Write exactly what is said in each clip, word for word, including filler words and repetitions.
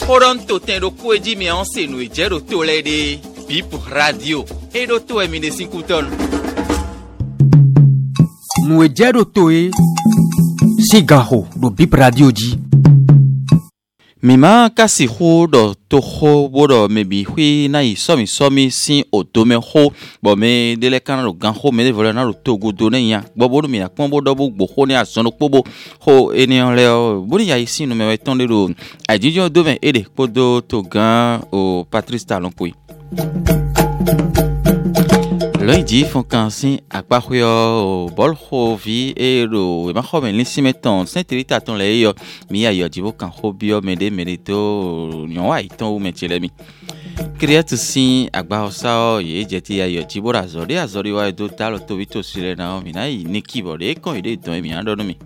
Horon to ten do kweji mi anse no ejero to lede. Bip radio. E do to e mi de sinkuton. No ejero to e. Sigaho do Bip radio ji. Mima kasi ho do to ho bodo mebi hui na isomi somi sin otome ho bo me dele kan ro gan ho me de vola na ro to godo ne yan bo bodo mi na pon bodo bo gbo ho ni asono pobo ho eniyan le o bo ni ya isi no me we ton de ro ajijo do ven ede podo to gan o Patrice Talon pui lundi font kansin akpa khoyo bol khovi e ro e ma khomen lisi meton sentirita ton le yo mi ya yo jibo kan khobio mede merito nyon wa iton ou metelemi create sin akpa osa ye jeti ya yo jibo razori azori wa do talo to vito sile na mi na ni keyboard e kon ide ton mi ando no mi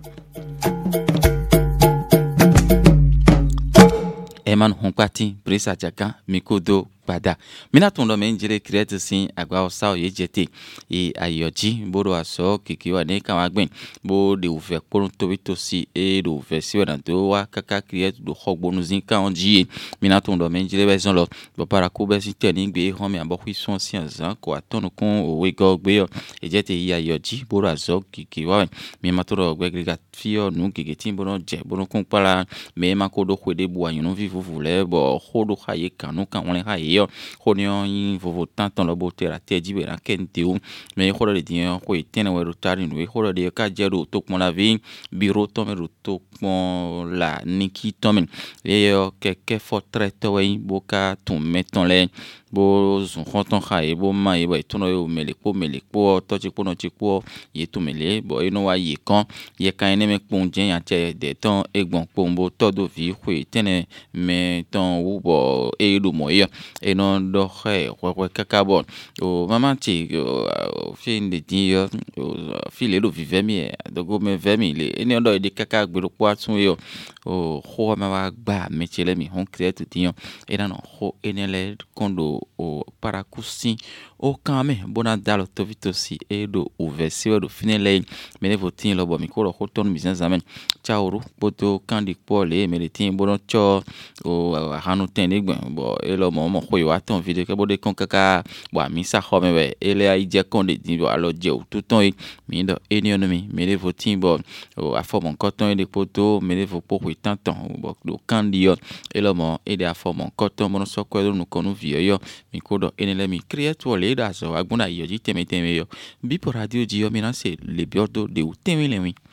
Eman Honkati Brisa Jaka Mikodo Bada Mina tondo menjire create sin agwa osa ye jete e ayoji bodo aso kikiwa ne kamagben bo de ouve koron to bito si e do ouve si wa do wa kaka create do hogbonu zin kan onji mina tondo menjire bezon lo bo para ko be si teni gbe ho mi abo kwison si anzan ko atonu kun owe go gbe yo e jete e ayoji bodo aso kikiwa mi matoro gbegriga fio nu kigetin bono je bono kun pala me makodo kwede bu ayunu vivu vule bo hodo haye kanu kan won haye yo honio yin vovo tanton lo botera teji be rakente u me hodo de din ko itene we rotari no we hodo de ka jero to pon la vi biro to me to pon la niki to men e yo keke fo treto we boka to meton le bo zon konton haye bo ma e bo itono yo mele po mele po to ti po no ti po ye to mele bo ino wa ye kan ye kan ene me pon jen ya che de ton egbon pombo todo vi ko itene me ton u bo e do mo yo e non do he ko kaka bon o maman ti fin de dia file do vive mi do go me ve mi le eni do de kaka gbero po atun yo o ho ma wa gba me chele mi hon create tiyan e na no ho enele kondo o parakusin o kame bona dalo to vitosi e do ovesi do finele me ne votin lo bo mi ko ro ko ton business amen chaoru boto kandi pole me le tin bono cho o hanu ten egben bo e lo mo mo ko yo aton video ke bode kon kaka bo mi sa ho me we ele ai je kon de din bo alo je o tout ton mi do eni ono mi me le votin bo o afo mon coton de poto me le vo po ko tanton bo do kandi yo e lo mo e de afo mon coton bono so ko do no konu vie yo mi ko do enele mi create wole da so agbona yo ji teme teme yo bi por radio ji yo mi na se le biordo de o teme le mi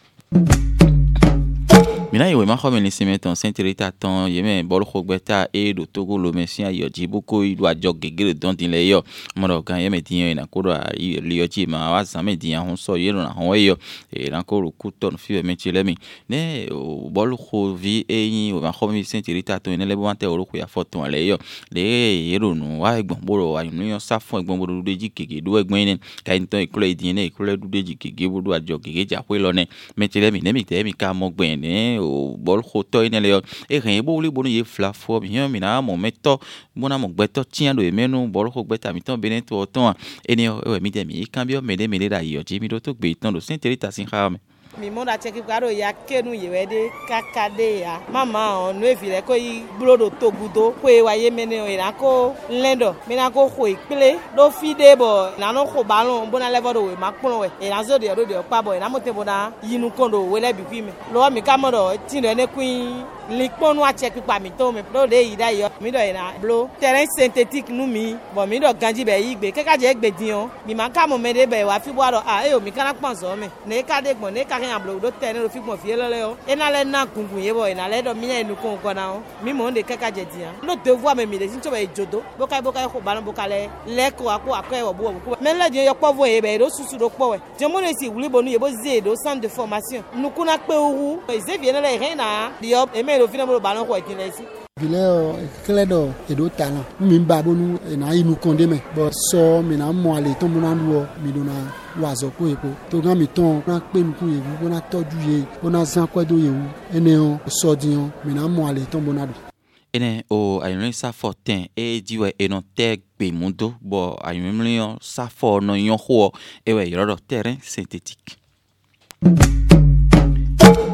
Mina yewe ma khomen lisi meton sentirita ton yeme bol khogbeta e do togo lo mesia yo jibuko ido ajo gegere don din le yo moro kan yeme tin na ko do li yo ji ma wa zame din hon so yero na hon yo e na ko ru kuton fi me chile mi ne bol kho vi e yin o ma khomen sentirita ton ne le bo ante oro ko ya foton le yo le yero nu wa egbon boro wa yin yo sa fun egbon boro de ji gege do egbon ni ka nton ikule din ne ikule du de ji gege bo do ajo gege ja pe lo ne me chile mi ne mi te mi ka mo gben ne o bol khoto ine le e ren bo li bonu ye fla fo bi yan mi na mo meto bona mo gbeto tian do emenu bol kho gbeta mi ton beneto ton eni e mi de mi kan bi o mede mede da yo ji mi do to gbe ton do senterita sin ha me mi mo da cheki kwaro ya kenu yewede kakade ya mama onu evile ko yi blodo togudo ko e waye mene o ira ko lendo mi na ko kho ipele do fide bo na no kho balon bona level do we makpon we e na zo de do de pa bo na mo te bona yinu kondo we le bi kwi me lo mi ka mo do tin do ne kwin likponu a cheki pa mi to me do de ida yo mi do ina blo terrain synthétique nu mi bo mi do ganji be yi gbe keka je gbe din o mi ma ka mo me de be wa fi bo do ah e o mi kana pon so me ne ka de gbon ne ka yan blo do tene ro fi gbon fi lele o e na le na gungun ye bo e na le do mi enu ko ko na o mi mo de keka je din no devoir me mi de sin to be jodo bo kai bo kai ko balon bo kale le ko ako ako e wo bo bo me le din yo po vo ye be do susu do po we je mo le si wuli bonu ye bo ze do centre de formation nu kuna pe owu e ze vie na le ren na dio e me lo fi na mo balon ko e tin le si Vile kledo edo talent mi mba bonu na inu konde me bo so mi na mo ale ton mo na lu mi do na wazo ko epo to gan mi ton na pe mi kun ye bo na toju ye bo na zan ko do ye wu ene on so dion mi na mo ale ton mo na do ene o ayun sa fortin e diwe e non te gbe mundo bo ayun mi yon sa for no yon ho e we yoro terrain synthétique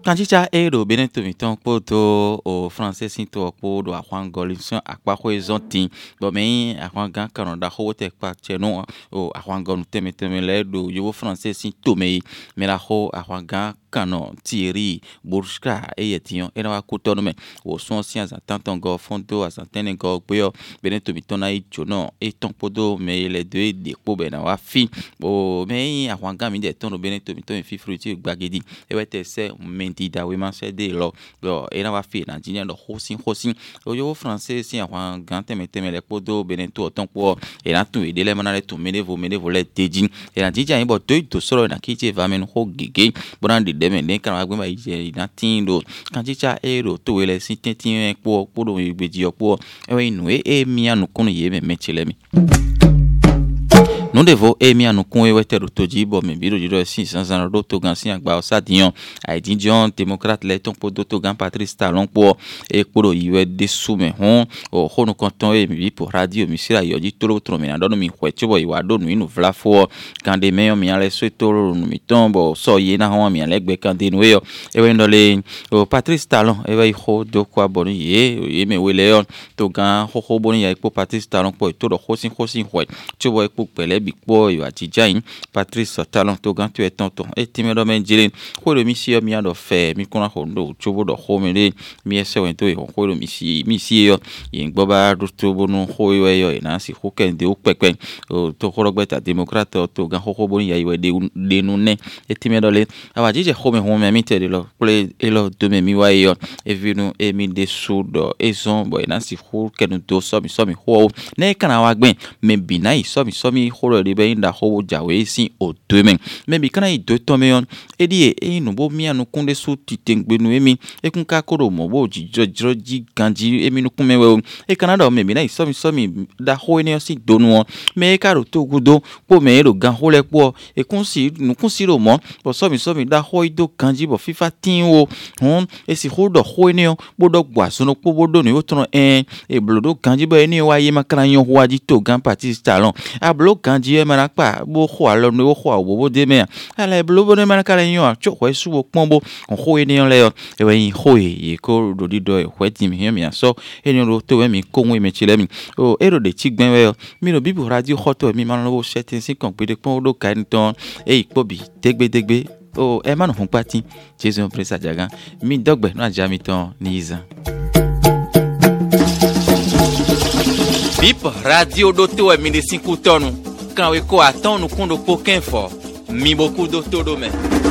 kanchicha ero beneto miton poto o français sinto po do akwan golinson akpa ko ezontin bo me akwan gan kanada ho te pa cheno o akwan gon teme teme le do yo français sinto me me la ho akwan gan kano Thierry Bourska e yetion e na kutono me o son science tanton go fondo asantene go boyo beneto miton na ichono e ton podo me le deux de po be na wa fi o me akwan gan mi de ton beneto miton fi fruiti gbagedi e wete se mentida we man se de lo lo e na wa fi na jinia do hosin hosin o yo français si akwan gan teme teme le podo beneto ton po e na tu e de le manale tu menevo menevo le tejin e na jija yin bo to to soro na kiche va men ho gege bonandi deme ne kan wa gbe ma ije na tindo kan chicha ero to we le si tentin po po do igbeji opo e we inu e mi anu kunu ye me mechele mi nous devons aimer à nous convaincre de tout dire bon mais biro dire si sans un autre gan si agba osadion a didion démocrate les ton pour d'autres gan Patrice Talon pour et pour y de soume hon o hono content et mi pour radio monsieur ayo di tolo tromena don mi hwecho boy wa don mi no vla fo quand des meilleurs mi ale so tolo no mi tombo so ye na hon mi ale gbe kan de no yo e we ndole o Patrice Talon e we ho do kwa boni ye e me we leon to gan ho ho boni ya pour Patrice Talon pour to do hosin hosin hwe chobo e pour pele big boy wa jijain Patrice Talon to gan tu et tonton et timedo men jilin ko le monsieur mi ando fe mi kona hondo chobo do ho me le mi ese wen to e ko le misi misi yo yin gboba do to bonu ho yo yo na si ho ken de o pepe o to ko rogbeta démocrate to gan ho ho boni ya iwe de de nu ne et timedo le awa jije ho me ho me mi te de lo ple e lo de me mi wa yo e vinu e mi de sudo e zon boy na si ho ken do so mi so mi ho ne kana wa gben me binai so mi so mi ho de be inda ho jawe si o demain me bi kana i do to me on e di e no bo mi anu kunde su titengbe nu emi e kun ka koro mo bo jijo jijo ji ganji emi nu kun me we e kana da me bi na so mi so mi da ho ni o si do nu me ka ro to gudo po me ro gan ho le po e kun si nu kun si ro mo bo so mi so mi da ho do ganji bo fifa tin o hon e si ho do ho ni o bo do gba so no po bo do ni o tron en e blodo ganji bo eni wa ye makran yon ho aji to gan Patrice Talon a blo ganji e mara pa bo ho alo no ho wo bo de me ala blo bo ne mara kala yon cho ho su bo pombo on ho eni yon le e we ho e ko do di do e ho ti mi mi so eni ro to we mi ko we me chile mi o ero de ti gben we mi no bibu radio hoto mi ma lo setting si kon pe de pon do kan ton e ipo bi degbe degbe o e ma no fun pati Jesu Prince Ajagan mi dogbe no aja mi ton ni izan Bip radio do to e mi de cinco tonu kan we ko aton no kundo pouquin fort mi beaucoup do todo me